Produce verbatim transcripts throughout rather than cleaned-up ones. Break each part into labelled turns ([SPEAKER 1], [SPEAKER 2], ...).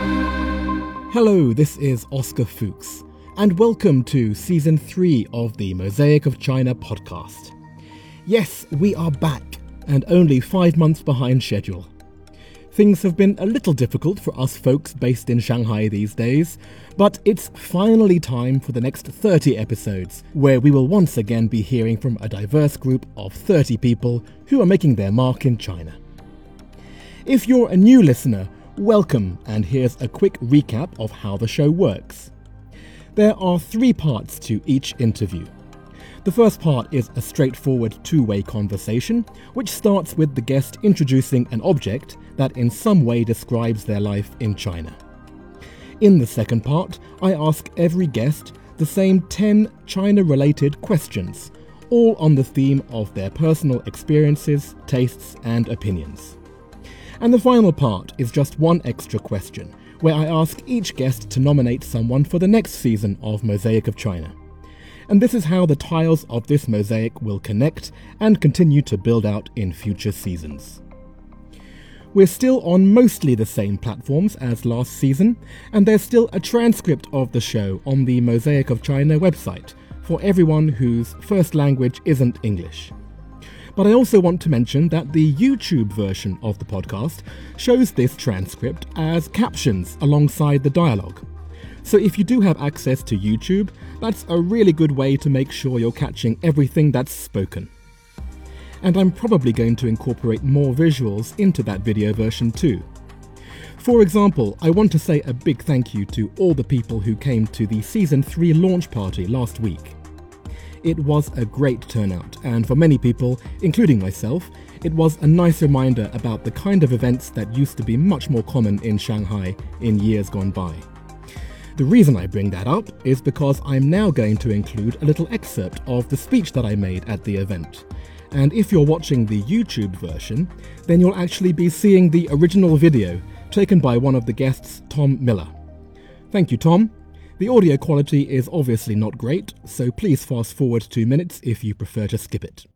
[SPEAKER 1] Hello, this is Oscar Fuchs, and welcome to Season three of the Mosaic of China podcast. Yes, we are back, and only five months behind schedule. Things have been a little difficult for us folks based in Shanghai these days, but it's finally time for the next thirty episodes, where we will once again be hearing from a diverse group of thirty people who are making their mark in China. If you're a new listener, welcome, and here's a quick recap of how the show works. There are three parts to each interview. The first part is a straightforward two-way conversation, which starts with the guest introducing an object that in some way describes their life in China. In the second part, I ask every guest the same ten China-related questions, all on the theme of their personal experiences, tastes, and opinions. And the final part is just one extra question, where I ask each guest to nominate someone for the next season of Mosaic of China. And this is how the tiles of this mosaic will connect and continue to build out in future seasons. We're still on mostly the same platforms as last season, and there's still a transcript of the show on the Mosaic of China website for everyone whose first language isn't English. But I also want to mention that the YouTube version of the podcast shows this transcript as captions alongside the dialogue. So if you do have access to YouTube, that's a really good way to make sure you're catching everything that's spoken. And I'm probably going to incorporate more visuals into that video version too. For example, I want to say a big thank you to all the people who came to the Season three launch party last week. It was a great turnout, and for many people, including myself, it was a nice reminder about the kind of events that used to be much more common in Shanghai in years gone by. The reason I bring that up is because I'm now going to include a little excerpt of the speech that I made at the event. And if you're watching the YouTube version, then you'll actually be seeing the original video taken by one of the guests, Tom Miller. Thank you, Tom. The audio quality is obviously not great, so please fast forward two minutes if you prefer to skip it.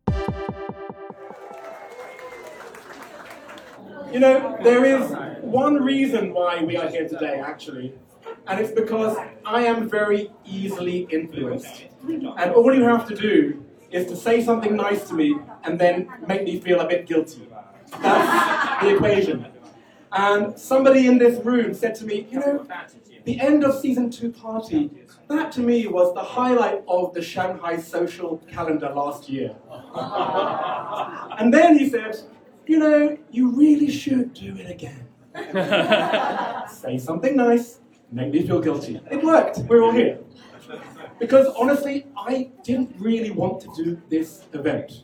[SPEAKER 2] You know, there is one reason why we are here today, actually, and it's because I am very easily influenced. And all you have to do is to say something nice to me and then make me feel a bit guilty. That's the equation. And somebody in this room said to me, you know, the end of season two party, that to me was the highlight of the Shanghai social calendar last year. And then he said, you know, you really should do it again. Say something nice, make me feel guilty. It worked, we're all here. Because honestly, I didn't really want to do this event.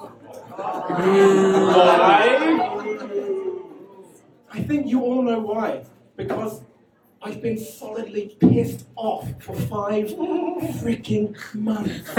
[SPEAKER 2] Why? I think you all know why. Because I've been solidly pissed off for five freaking months.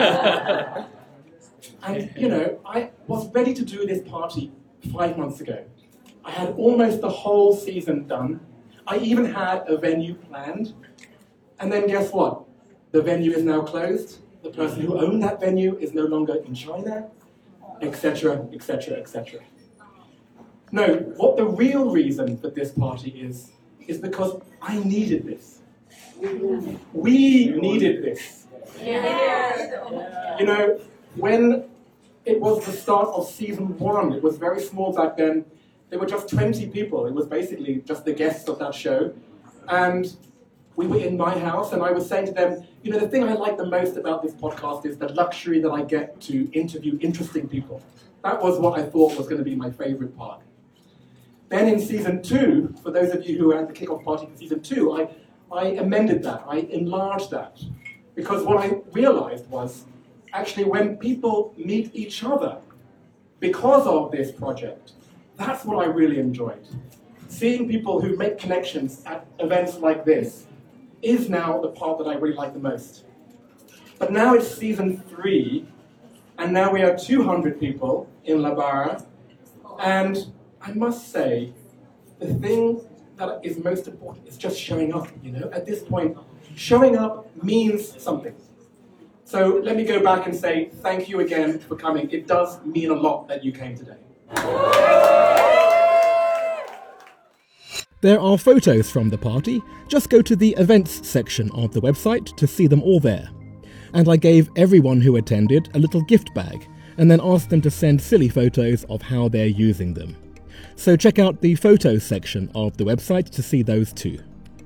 [SPEAKER 2] And, you know, I was ready to do this party five months ago. I had almost the whole season done. I even had a venue planned. And then guess what? The venue is now closed. The person who owned that venue is no longer in China, et cetera, et cetera, et cetera. No, what the real reason for this party is, is because I needed this. We needed this. You know, when it was the start of season one, it was very small back then. There were just twenty people. It was basically just the guests of that show. And we were in my house, and I was saying to them, you know, the thing I like the most about this podcast is the luxury that I get to interview interesting people. That was what I thought was going to be my favorite part. Then in season two, for those of you who were at the kickoff party for season two, I, I amended that, I enlarged that. Because what I realized was, actually when people meet each other because of this project, that's what I really enjoyed. Seeing people who make connections at events like this is now the part that I really like the most. But now it's season three, and now we are two hundred people in La Barra, and I must say, the thing that is most important is just showing up, you know? At this point, showing up means something. So let me go back and say thank you again for coming. It does mean a lot that you came today.
[SPEAKER 1] There are photos from the party. Just go to the events section of the website to see them all there. And I gave everyone who attended a little gift bag, and then asked them to send silly photos of how they're using them. So check out the photos section of the website to see those too.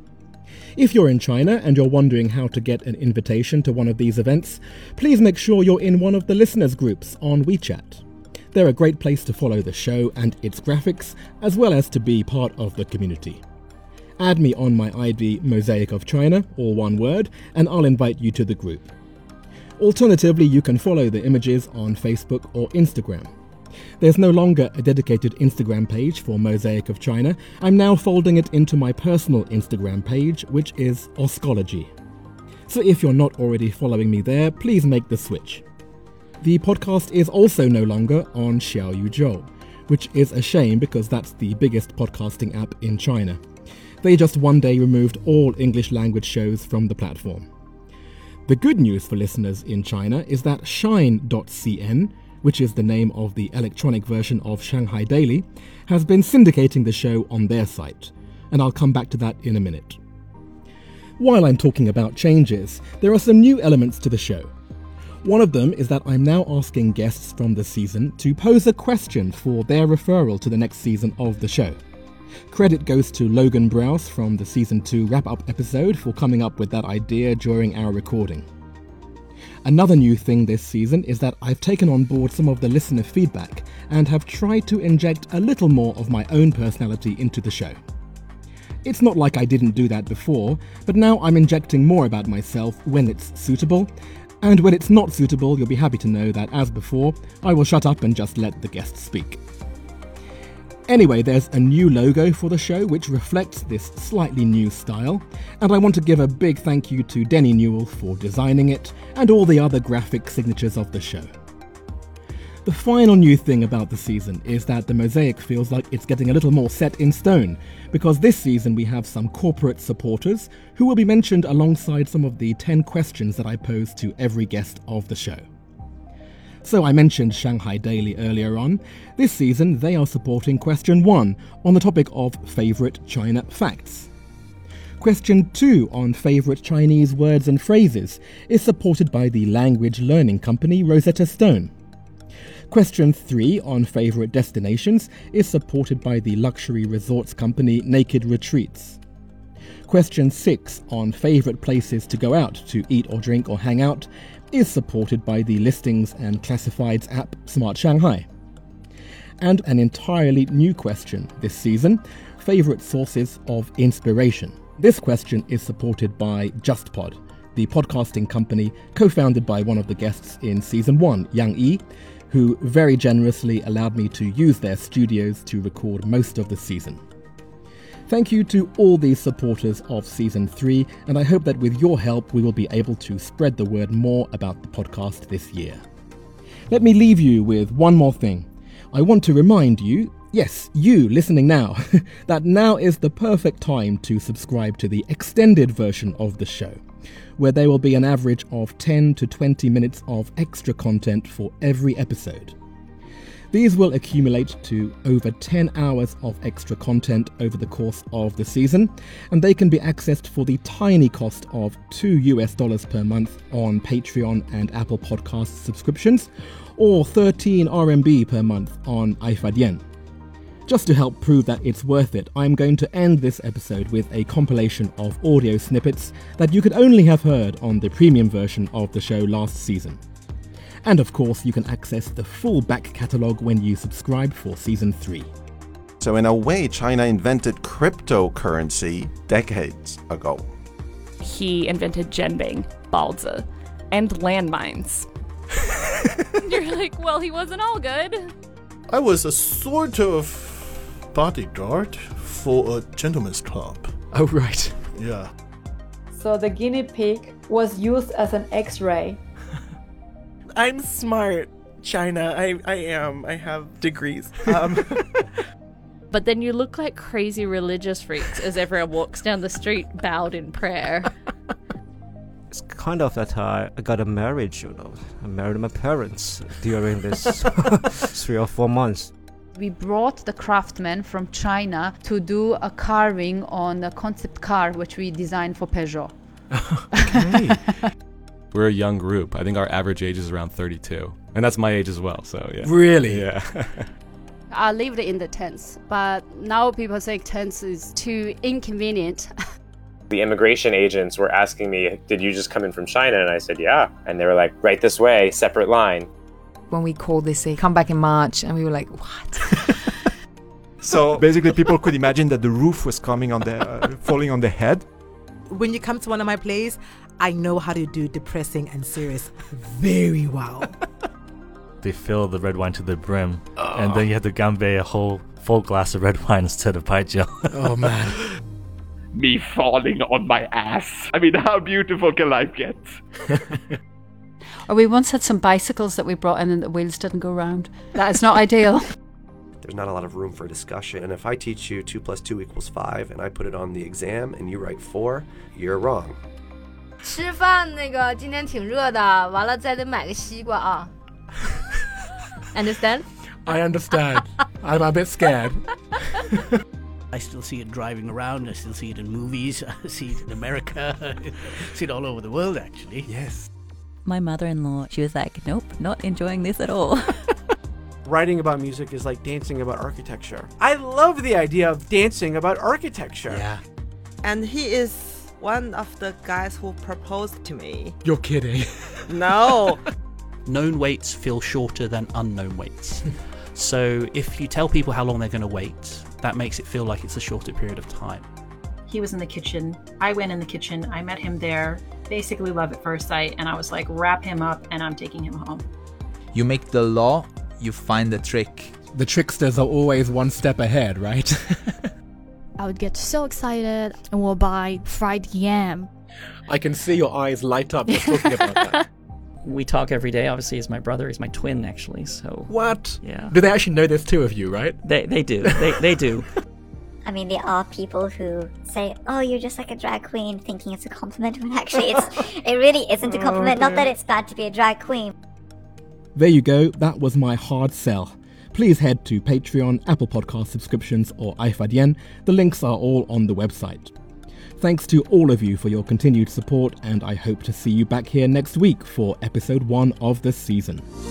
[SPEAKER 1] If you're in China and you're wondering how to get an invitation to one of these events, please make sure you're in one of the listeners groups on WeChat. They're a great place to follow the show and its graphics, as well as to be part of the community. Add me on my I D Mosaic of China, all one word, and I'll invite you to the group. Alternatively, you can follow the images on Facebook or Instagram. There's no longer a dedicated Instagram page for Mosaic of China. I'm now folding it into my personal Instagram page, which is Oscology. So if you're not already following me there, please make the switch. The podcast is also no longer on Xiaoyuzhou, which is a shame because that's the biggest podcasting app in China. They just one day removed all English language shows from the platform. The good news for listeners in China is that Shine dot c n, which is the name of the electronic version of Shanghai Daily, has been syndicating the show on their site, and I'll come back to that in a minute. While I'm talking about changes, there are some new elements to the show. One of them is that I'm now asking guests from the season to pose a question for their referral to the next season of the show. Credit goes to Logan Browse from the Season two wrap-up episode for coming up with that idea during our recording. Another new thing this season is that I've taken on board some of the listener feedback and have tried to inject a little more of my own personality into the show. It's not like I didn't do that before, but now I'm injecting more about myself when it's suitable, and when it's not suitable, you'll be happy to know that, as before, I will shut up and just let the guests speak. Anyway, there's a new logo for the show which reflects this slightly new style, and I want to give a big thank you to Denny Newell for designing it and all the other graphic signatures of the show. The final new thing about the season is that the Mosaic feels like it's getting a little more set in stone, because this season we have some corporate supporters who will be mentioned alongside some of the ten questions that I pose to every guest of the show. So I mentioned Shanghai Daily earlier on. This season they are supporting question one on the topic of favourite China facts. Question two on favourite Chinese words and phrases is supported by the language learning company Rosetta Stone. Question three on favourite destinations is supported by the luxury resorts company Naked Retreats. Question six on favourite places to go out to eat or drink or hang out is supported by the listings and classifieds app Smart Shanghai. And an entirely new question this season, favourite sources of inspiration. This question is supported by JustPod, the podcasting company co-founded by one of the guests in Season one, Yang Yi, who very generously allowed me to use their studios to record most of the season. Thank you to all these supporters of Season three, and I hope that with your help we will be able to spread the word more about the podcast this year. Let me leave you with one more thing. I want to remind you, yes, you listening now, that now is the perfect time to subscribe to the extended version of the show, where there will be an average of ten to twenty minutes of extra content for every episode. These will accumulate to over ten hours of extra content over the course of the season, and they can be accessed for the tiny cost of two US dollars per month on Patreon and Apple Podcasts subscriptions, or thirteen R M B per month on iFadian. Just to help prove that it's worth it, I'm going to end this episode with a compilation of audio snippets that you could only have heard on the premium version of the show last season. And of course, you can access the full back catalogue when you subscribe for Season three.
[SPEAKER 3] So in a way, China invented cryptocurrency decades ago.
[SPEAKER 4] He invented Zhenbing, Baozi, and landmines. You're like, well, he wasn't all good.
[SPEAKER 5] I was a sort of bodyguard for a gentleman's club.
[SPEAKER 1] Oh, right.
[SPEAKER 5] Yeah.
[SPEAKER 6] So the guinea pig was used as an X-ray.
[SPEAKER 7] I'm smart, China. I, I am. I have degrees. Um.
[SPEAKER 4] But then you look like crazy religious freaks as everyone walks down the street bowed in prayer.
[SPEAKER 8] It's kind of that I got a marriage, you know. I married my parents during this three or four months.
[SPEAKER 6] We brought the craftsman from China to do a carving on a concept car which we designed for Peugeot.
[SPEAKER 9] Okay. We're a young group. I think our average age is around thirty-two. And that's my age as well, so yeah.
[SPEAKER 1] Really?
[SPEAKER 9] Yeah.
[SPEAKER 10] I lived in the tents, but now people say tents is too inconvenient.
[SPEAKER 11] The immigration agents were asking me, did you just come in from China? And I said, yeah. And they were like, right this way, separate line.
[SPEAKER 12] When we called, they say, come back in March. And we were like, what?
[SPEAKER 13] So basically people could imagine that the roof was coming on their, uh, falling on their head.
[SPEAKER 14] When you come to one of my plays, I know how to do depressing and serious very well.
[SPEAKER 15] They fill the red wine to the brim, oh. and then you have to gambe a whole full glass of red wine instead of baijiu.
[SPEAKER 1] Oh man.
[SPEAKER 16] Me falling on my ass. I mean, how beautiful can life get?
[SPEAKER 10] Or we once had some bicycles that we brought in and the wheels didn't go round. That is not ideal.
[SPEAKER 17] There's not a lot of room for discussion. And if I teach you two plus two equals five and I put it on the exam and you write four, you're wrong.
[SPEAKER 18] 吃饭那个今天挺热的，完了再得买个西瓜啊。Understand?
[SPEAKER 1] I understand. I'm a bit scared.
[SPEAKER 19] I still see it driving around. I still see it in movies. I see it in America. I see it all over the world, actually.
[SPEAKER 1] Yes.
[SPEAKER 20] My mother-in-law, she was like, nope, not enjoying this at all.
[SPEAKER 21] Writing about music is like dancing about architecture. I love the idea of dancing about architecture.
[SPEAKER 1] Yeah.
[SPEAKER 22] And he is one of the guys who proposed to me.
[SPEAKER 1] You're kidding.
[SPEAKER 22] No.
[SPEAKER 19] Known waits feel shorter than unknown waits. So if you tell people how long they're going to wait, that makes it feel like it's a shorter period of time.
[SPEAKER 23] He was in the kitchen. I went in the kitchen. I met him there. Basically love at first sight. And I was like, wrap him up and I'm taking him home.
[SPEAKER 24] You make the law, you find the trick.
[SPEAKER 1] The tricksters are always one step ahead, right?
[SPEAKER 25] I would get so excited and we'll buy fried yam.
[SPEAKER 1] I can see your eyes light up just talking about that.
[SPEAKER 26] We talk every day. Obviously, he's my brother. He's my twin, actually. So
[SPEAKER 1] what?
[SPEAKER 26] Yeah.
[SPEAKER 1] Do they actually know there's two of you, right?
[SPEAKER 26] They they do. They they do.
[SPEAKER 27] I mean, there are people who say, "Oh, you're just like a drag queen," thinking it's a compliment, when actually it's it really isn't a compliment. Not that it's bad to be a drag queen.
[SPEAKER 1] There you go. That was my hard sell. Please head to Patreon, Apple Podcast subscriptions, or iFadien. The links are all on the website. Thanks to all of you for your continued support, and I hope to see you back here next week for episode one of the season.